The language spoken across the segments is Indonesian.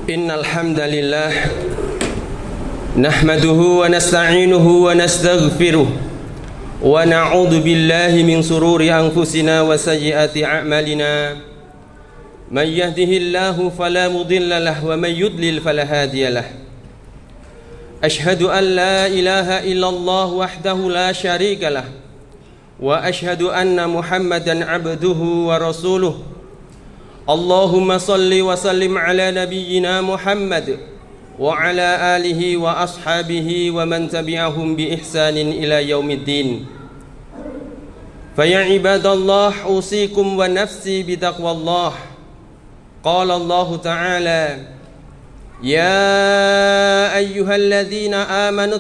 Innal hamdalillah nahmaduhu wa nasta'inuhu wa nastaghfiruh wa na'udzu billahi min sururi anfusina wa sayyiati a'malina. Man yahdihillahu fala mudilla lahu wa man yudlil fala hadiya lahu. Ashhadu an la ilaha illallah wahdahu la syarika lah wa ashhadu anna Muhammadan abduhu wa rasuluh. Allahumma salli wa sallim ala nabiyyina Muhammad wa ala alihi wa ashabihi wa man tabi'ahum bi ihsanin ila yaumiddin. Fa ya ibadallah usikum wa nafsi bi taqwallah. Qala Allah ta'ala: Ya ayyuhalladzina amanu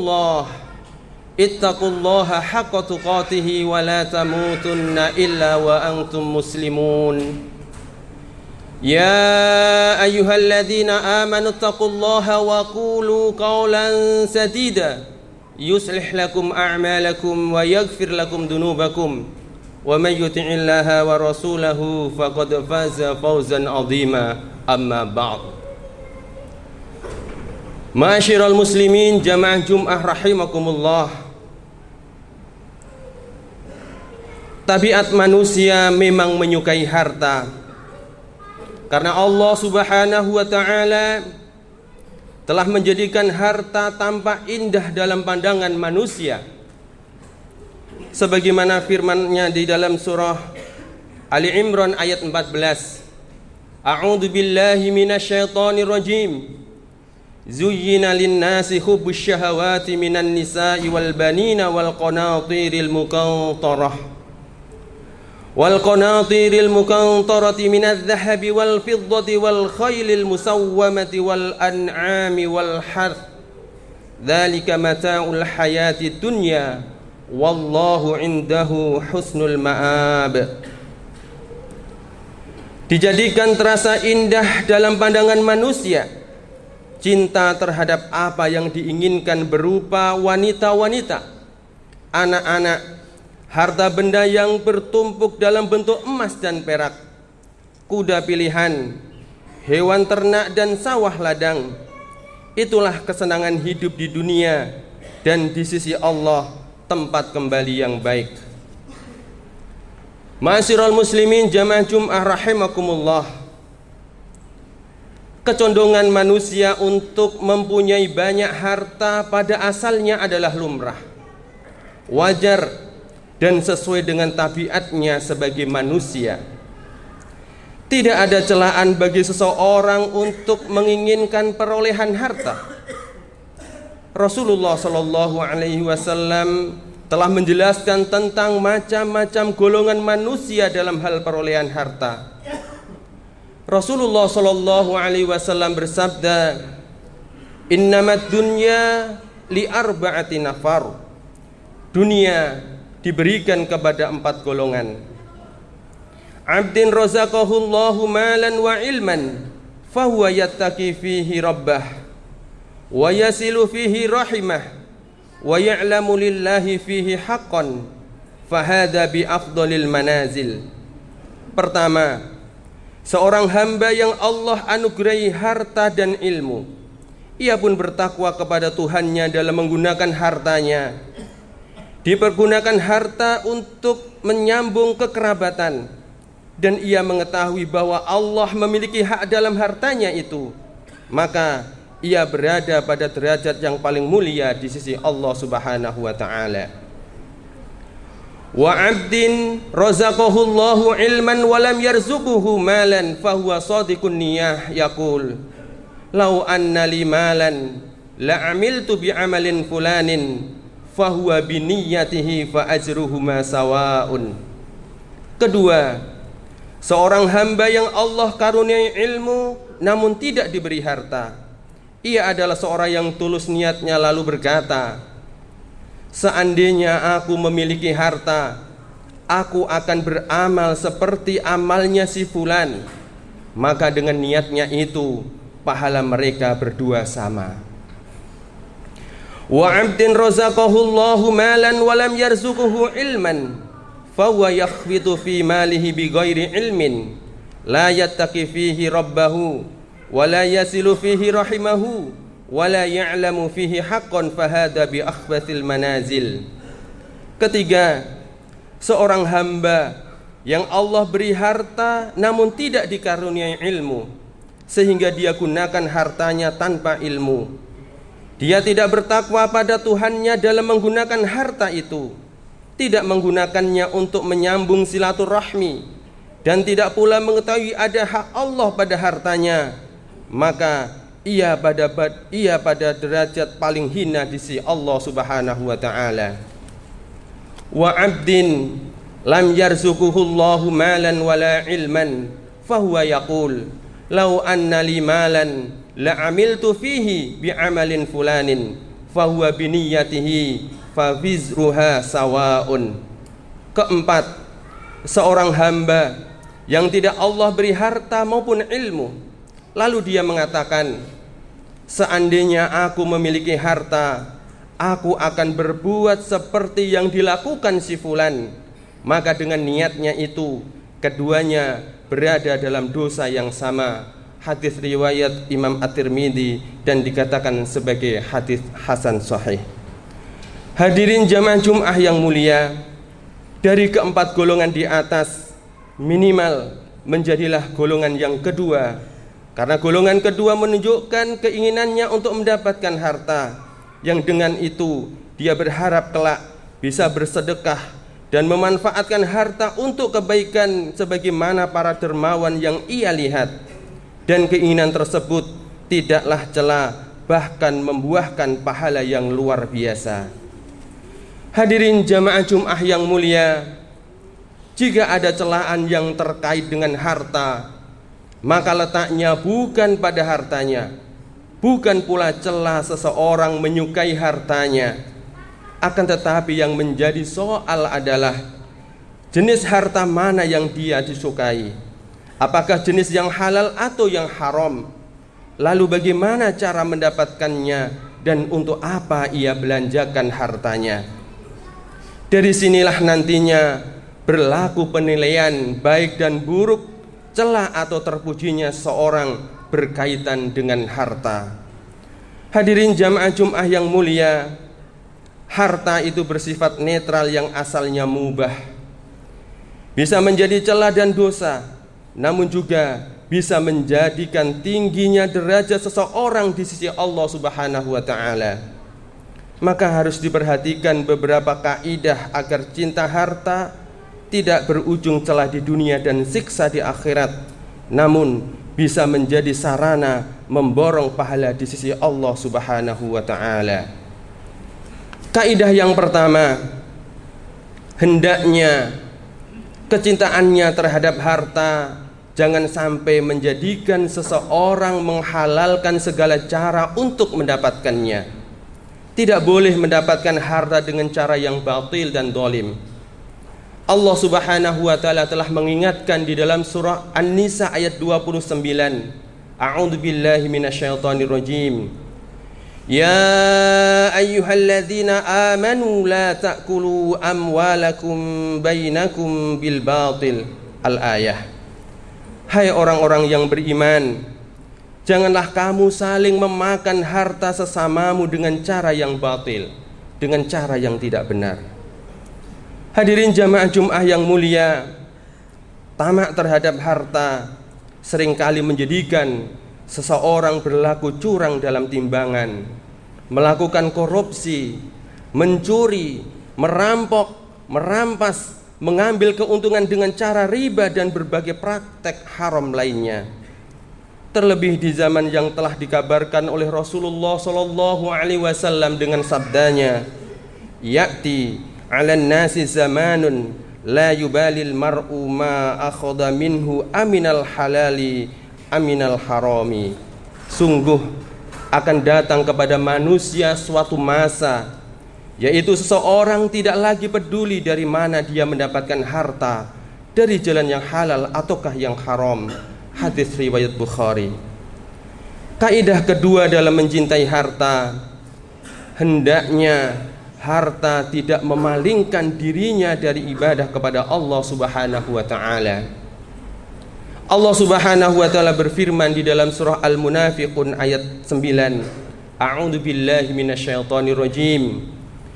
ittaqullaha haqqa tuqatih wa la tamutunna illa wa antum muslimun. Ya ayyuhalladzina amanu ittaqullaha wa qulu qawlan sadida yuslih lakum a'malakum wa yaghfir lakum dunubakum wa may yuti'illaha wa rasulahu faqad faza fawzan 'azima. Amma ba'd. Ma'asyiral muslimin jamaah Jum'ah rahimakumullah. Tabiat manusia memang menyukai harta, karena Allah Subhanahu wa ta'ala telah menjadikan harta tampak indah dalam pandangan manusia, sebagaimana firman-Nya di dalam surah Ali Imran ayat 14. A'udzu billahi minasyaitonir rajim. Zuyyina lin-nasi hubbus syahawati minan nisa'i wal banina wal qanatiril muqantarah والقناطير المقنطرة من الذهب والفضة والخيل المسومة والأنعام والحرث ذلك متاع الحياة الدنيا والله عنده حسن المآب. Dijadikan terasa indah dalam pandangan manusia cinta terhadap apa yang diinginkan berupa wanita-wanita, anak-anak, harta benda yang bertumpuk dalam bentuk emas dan perak, kuda pilihan, hewan ternak dan sawah ladang. Itulah kesenangan hidup di dunia dan di sisi Allah tempat kembali yang baik. Ma'asyiral muslimin jamaah Jum'ah rahimakumullah. Kecondongan manusia untuk mempunyai banyak harta pada asalnya adalah lumrah, wajar, dan sesuai dengan tabiatnya sebagai manusia. Tidak ada celaan bagi seseorang untuk menginginkan perolehan harta. Rasulullah Shallallahu Alaihi Wasallam telah menjelaskan tentang macam-macam golongan manusia dalam hal perolehan harta. Rasulullah Shallallahu Alaihi Wasallam bersabda, Innamad dunya li arba'ati nafar. Dunia diberikan kepada 4 golongan. Abdin razaqahullahu malan wa ilman fahuwa yattaqi fihi rabbah wa yasilu fihi rahimah wa ya'lamu lillahi fihi haqqan fahadha bi afdalil manazil. Pertama, seorang hamba yang Allah anugerahi harta dan ilmu. Ia pun bertakwa kepada Tuhannya dalam menggunakan hartanya. Dipergunakan harta untuk menyambung kekerabatan, dan ia mengetahui bahwa Allah memiliki hak dalam hartanya itu, maka ia berada pada derajat yang paling mulia di sisi Allah Subhanahu wa ta'ala. Wa 'abdin razaqahullahu ilman wa lam yarzuquhu malan fahuwa shadiqun niyah yaqul law anna li malan la 'amiltu bi 'amalin fulanin fahuwa biniyatihi fa ajruhuma sawaun. Kedua, seorang hamba yang Allah karuniai ilmu namun tidak diberi harta. Ia adalah seorang yang tulus niatnya lalu berkata, seandainya aku memiliki harta, aku akan beramal seperti amalnya si fulan, maka dengan niatnya itu pahala mereka berdua sama. Wa 'abdin razaqahullahu malan wa lam yarzuquhu ilman fahuwa yakhbitu fi malihi bighairi ilmin la yattaqi fihi rabbahu wa la yasilu fihi rahimahu wa la ya'lamu fihi haqqan fahada bi akhbathil manazil. Ketiga, seorang hamba yang Allah beri harta namun tidak dikaruniai ilmu, sehingga dia gunakan hartanya tanpa ilmu. Dia tidak bertakwa pada Tuhannya dalam menggunakan harta itu, tidak menggunakannya untuk menyambung silaturahmi, dan tidak pula mengetahui ada hak Allah pada hartanya, maka ia pada derajat paling hina di sisi Allah Subhanahu wa taala. Wa 'abdin lam yarzuquhullahu malan wala ilman fahuwa yaqul law anna li malan la amiltu fihi bi amalin fulanin fahuwa bi niyyatihi fa wizruha sawaun. Keempat, seorang hamba yang tidak Allah beri harta maupun ilmu, lalu dia mengatakan, seandainya aku memiliki harta, aku akan berbuat seperti yang dilakukan si fulan, maka dengan niatnya itu keduanya berada dalam dosa yang sama. Hadis riwayat Imam At-Tirmidzi dan dikatakan sebagai hadis hasan sahih. Hadirin jamaah Jum'ah yang mulia, dari keempat golongan di atas, minimal menjadilah golongan yang kedua, karena golongan kedua menunjukkan keinginannya untuk mendapatkan harta, yang dengan itu dia berharap kelak bisa bersedekah dan memanfaatkan harta untuk kebaikan sebagaimana para dermawan yang ia lihat. Dan keinginan tersebut tidaklah celah, bahkan membuahkan pahala yang luar biasa. Hadirin jamaah Jum'ah yang mulia, jika ada celaan yang terkait dengan harta, maka letaknya bukan pada hartanya, bukan pula celah seseorang menyukai hartanya, akan tetapi yang menjadi soal adalah jenis harta mana yang dia disukai. Apakah jenis yang halal atau yang haram? Lalu bagaimana cara mendapatkannya dan untuk apa ia belanjakan hartanya? Dari sinilah nantinya berlaku penilaian baik dan buruk, celah atau terpujinya seorang berkaitan dengan harta. Hadirin jamaah Jum'ah yang mulia, harta itu bersifat netral yang asalnya mubah, bisa menjadi celah dan dosa, namun juga bisa menjadikan tingginya derajat seseorang di sisi Allah Subhanahu wa taala. Maka harus diperhatikan beberapa kaidah agar cinta harta tidak berujung celah di dunia dan siksa di akhirat, namun bisa menjadi sarana memborong pahala di sisi Allah Subhanahu wa taala. Kaidah yang pertama, hendaknya kecintaannya terhadap harta jangan sampai menjadikan seseorang menghalalkan segala cara untuk mendapatkannya. Tidak boleh mendapatkan harta dengan cara yang batil dan zalim. Allah Subhanahu wa taala telah mengingatkan di dalam surah An-Nisa ayat 29. A'udzu billahi minasyaitonir rajim. Ya ayyuhalladzina amanu la ta'kulu amwalakum bainakum bil batil. Al-ayah. Hai orang-orang yang beriman, janganlah kamu saling memakan harta sesamamu dengan cara yang batil, dengan cara yang tidak benar. Hadirin jamaah Jum'ah yang mulia, tamak terhadap harta seringkali menjadikan seseorang berlaku curang dalam timbangan, melakukan korupsi, mencuri, merampok, merampas, mengambil keuntungan dengan cara riba dan berbagai praktek haram lainnya. Terlebih di zaman yang telah dikabarkan oleh Rasulullah sallallahu alaihi wasallam dengan sabdanya, "Ya'ti 'alan nasi zamanun la yubalil mar'u ma akhadha minhu aminal halali aminal harami." Sungguh akan datang kepada manusia suatu masa, yaitu seseorang tidak lagi peduli dari mana dia mendapatkan harta, dari jalan yang halal ataukah yang haram. Hadis riwayat Bukhari. Kaidah kedua dalam mencintai harta, hendaknya harta tidak memalingkan dirinya dari ibadah kepada Allah Subhanahu wa taala. Allah Subhanahu wa taala berfirman di dalam surah Al-Munafiqun ayat 9. A'udzu billahi minasyaitonir rajim.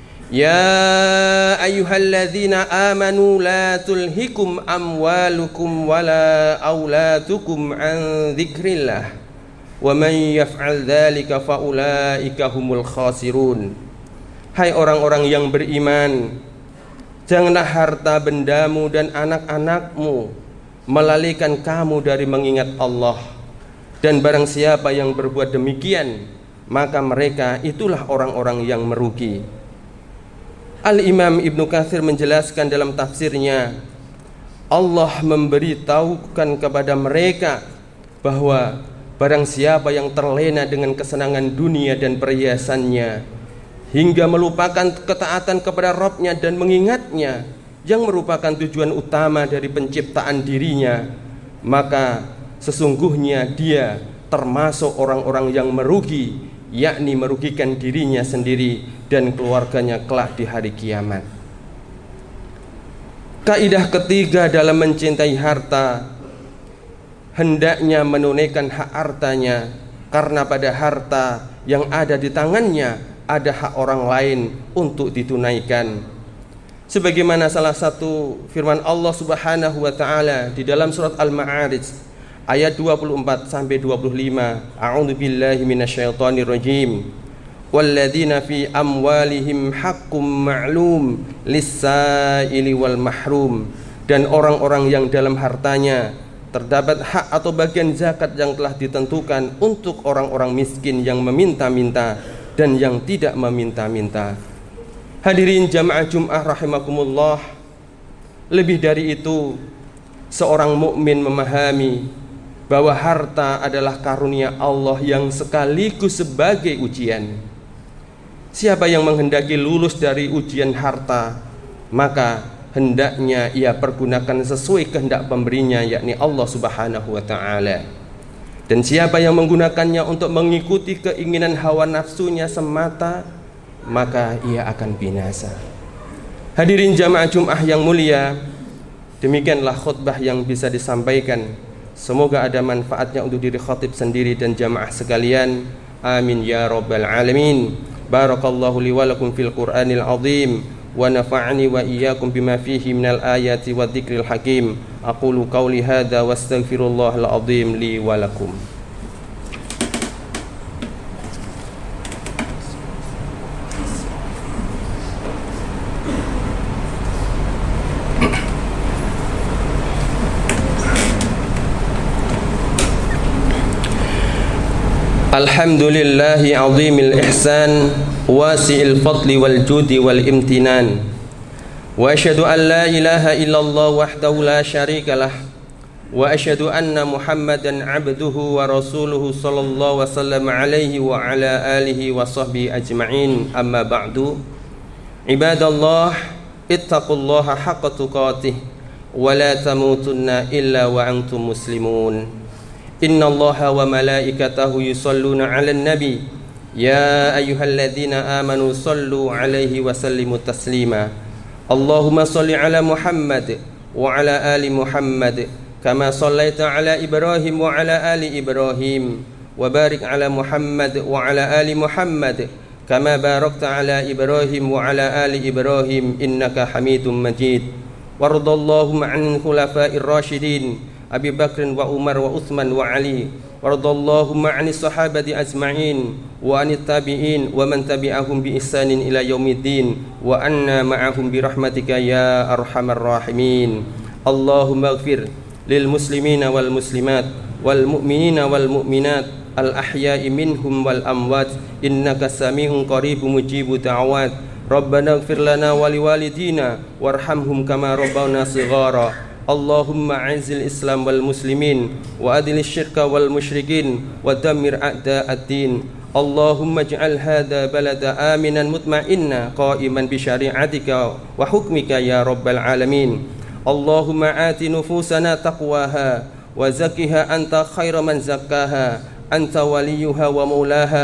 Ya ayyuhalladzina amanu la tulhikum amwalukum wala auladukum an dzikrillah wa man yaf'al dzalika faulaika humul khasirun. Hai orang-orang yang beriman, janganlah harta bendamu dan anak-anakmu melalaikan kamu dari mengingat Allah, dan barang siapa yang berbuat demikian maka mereka itulah orang-orang yang merugi. Al-Imam Ibnu Katsir menjelaskan dalam tafsirnya, Allah memberitahukan kepada mereka bahwa barang siapa yang terlena dengan kesenangan dunia dan perhiasannya hingga melupakan ketaatan kepada Rabb-Nya dan mengingatnya yang merupakan tujuan utama dari penciptaan dirinya, maka sesungguhnya dia termasuk orang-orang yang merugi, yakni merugikan dirinya sendiri dan keluarganya kelak di hari kiamat. Kaidah ketiga dalam mencintai harta, hendaknya menunaikan hak hartanya, karena pada harta yang ada di tangannya ada hak orang lain untuk ditunaikan. Sebagaimana salah satu firman Allah Subhanahu wa taala di dalam surat Al-Ma'arij ayat 24 sampai 25. A'udzu billahi minasyaitonir rajim. Walladzina fi amwalihim haqqum ma'lum lis-sa'ili wal mahrum. Dan orang-orang yang dalam hartanya terdapat hak atau bagian zakat yang telah ditentukan untuk orang-orang miskin yang meminta-minta dan yang tidak meminta-minta. Hadirin jamaah Jumat rahimakumullah, lebih dari itu, seorang mukmin memahami bahwa harta adalah karunia Allah yang sekaligus sebagai ujian. Siapa yang menghendaki lulus dari ujian harta, maka hendaknya ia pergunakan sesuai kehendak pemberinya, yakni Allah Subhanahu wa taala. Dan siapa yang menggunakannya untuk mengikuti keinginan hawa nafsunya semata, maka ia akan binasa. Hadirin jamaah Jumat yang mulia, demikianlah khutbah yang bisa disampaikan. Semoga ada manfaatnya untuk diri khatib sendiri dan jamaah sekalian. Amin ya rabbal alamin. Barakallahu li wa lakum fil Qur'anil azim wa nafa'ani wa iyyakum bima fihi minal ayati wa dzikril hakim. Aqulu qawli hadza wastaghfirullahal azim li wa lakum. Alhamdulillahi azimil ihsan wasi'il fadli wal judi wal imtinan, wa asyhadu an la ilaha illallah wahdahu la syarikalah, wa asyhadu anna Muhammadan abduhu wa rasuluhu sallallahu wasallam alaihi wa ala alihi wa sahbihi ajma'in. Amma ba'du. Ibadallah, ittaqullaha haqqa tuqatih wa la tamutunna illa wa antum muslimun. Inna Allaha wa malaikatahu yusalluna 'alan nabi ya ayyuhalladzina amanu sallu 'alaihi wa sallimu taslima. Allahumma salli 'ala Muhammad wa 'ala ali Muhammad kama sallaita 'ala Ibrahim wa 'ala ali Ibrahim, wa barik 'ala Muhammad wa 'ala ali Muhammad kama barakta 'ala Ibrahim wa 'ala ali Ibrahim innaka Hamidum Majid. Wardallahumma 'anil khulafa'ir rasyidin Abi Bakrin wa Umar wa Uthman wa Ali, waradallahu ma'anis sahabati ajma'in wa anit tabi'in wa man tabi'ahum bi ihsanin ila yaumiddin wa anna ma'ahum bi rahmatika ya arhamar rahimin. Allahumma ighfir lil muslimina wal muslimat wal mu'minina wal mu'minat al ahya'i minhum wal amwat innaka sami'un qaribun mujibu da'awat. Rabbana ighfir lana wa liwalidina warhamhum kama rabbawna shighara. Allahumma a'izil Islam wal muslimin wa adil syirka wal musyrikin wa dammir a'da'ad-din. Allahumma ij'al hadha balada aminan mutma'inna qa'iman bi syari'atika wa hukmika ya rabbal alamin. Allahumma ati nufusana taqwaha wa zakkiha anta khairu man zakkaha anta waliyuha wa maulaha.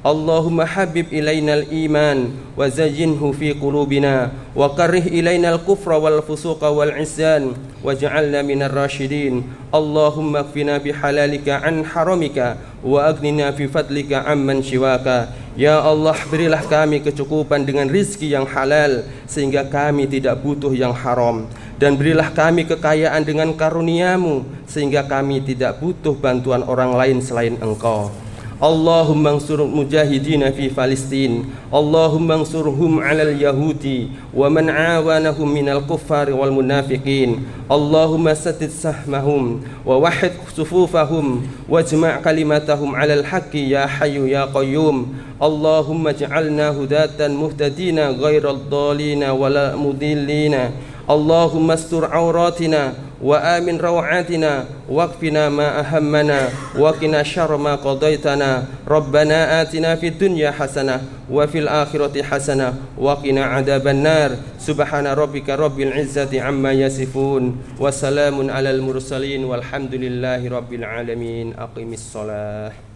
Allahumma habib ilainal iman wa zayyinhu fi qulubina wa karrih ilainal kufra wal fusuqa wal isyan waj'alna minar rasyidin. Allahumma kfina bihalalika an haramika wa aghnina fi fadlika amman siwaka. Ya Allah, berilah kami kecukupan dengan rizki yang halal sehingga kami tidak butuh yang haram, dan berilah kami kekayaan dengan karuniamu sehingga kami tidak butuh bantuan orang lain selain Engkau. Allahumma ansur mujahidina fi Palestin. Allahumma ansurhum 'alal yahudi wa man 'awanahum minal kuffari wal munafiqin. Allahumma saddid sahmahum wa wahhid sufufahum wajma' kalimatahum 'alal haqqi ya hayyu ya qayyum. Allahumma ij'alna hudatan muhtadina ghairal dhalina wala mudillina. Allahumma astur auratina wa amin rawatina waqfina ma ahammana wa qina syarra ma qadaitana. Rabbana atina fid dunya hasanah wa fil akhirati hasanah wa qina adzabannar. Subhana rabbika rabbil izzati amma yasifun wa salamun alal mursalin walhamdulillahi rabbil alamin. Aqimis shalah.